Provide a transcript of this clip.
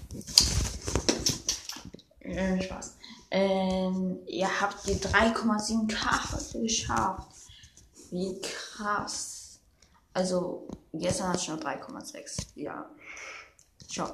Spaß. Ihr habt die 3,7K heute geschafft. Wie krass. Also, gestern hatte ich noch 3,6. Ja.